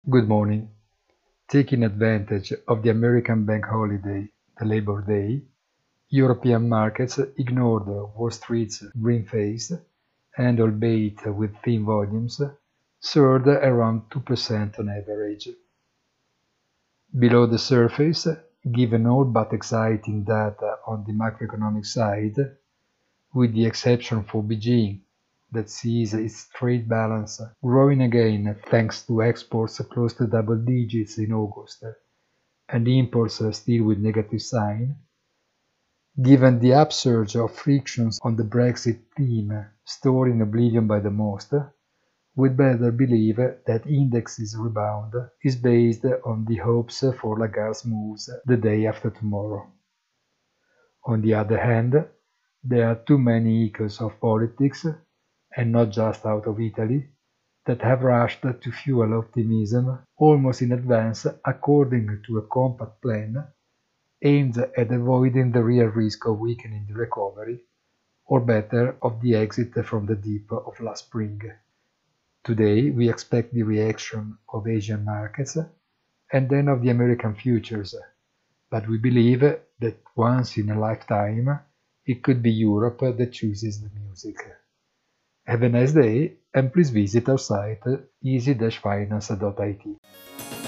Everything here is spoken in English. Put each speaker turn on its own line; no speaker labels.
Good morning. Taking advantage of the American bank holiday, the Labor Day, European markets ignored Wall Street's green-faced and, albeit with thin volumes, soared around 2% on average. Below the surface, given all but exciting data on the macroeconomic side, with the exception for Beijing, that sees its trade balance growing again thanks to exports close to double digits in August and imports still with negative sign, given the upsurge of frictions on the Brexit theme stored in oblivion by the most, we'd better believe that index's rebound is based on the hopes for Lagarde's moves the day after tomorrow. On the other hand, there are too many echoes of politics, and not just out of Italy, that have rushed to fuel optimism almost in advance according to a compact plan aimed at avoiding the real risk of weakening the recovery, or better, of the exit from the dip of last spring. Today we expect the reaction of Asian markets and then of the American futures, but we believe that once in a lifetime it could be Europe that chooses the music. Have a nice day and please visit our site easy-finance.it.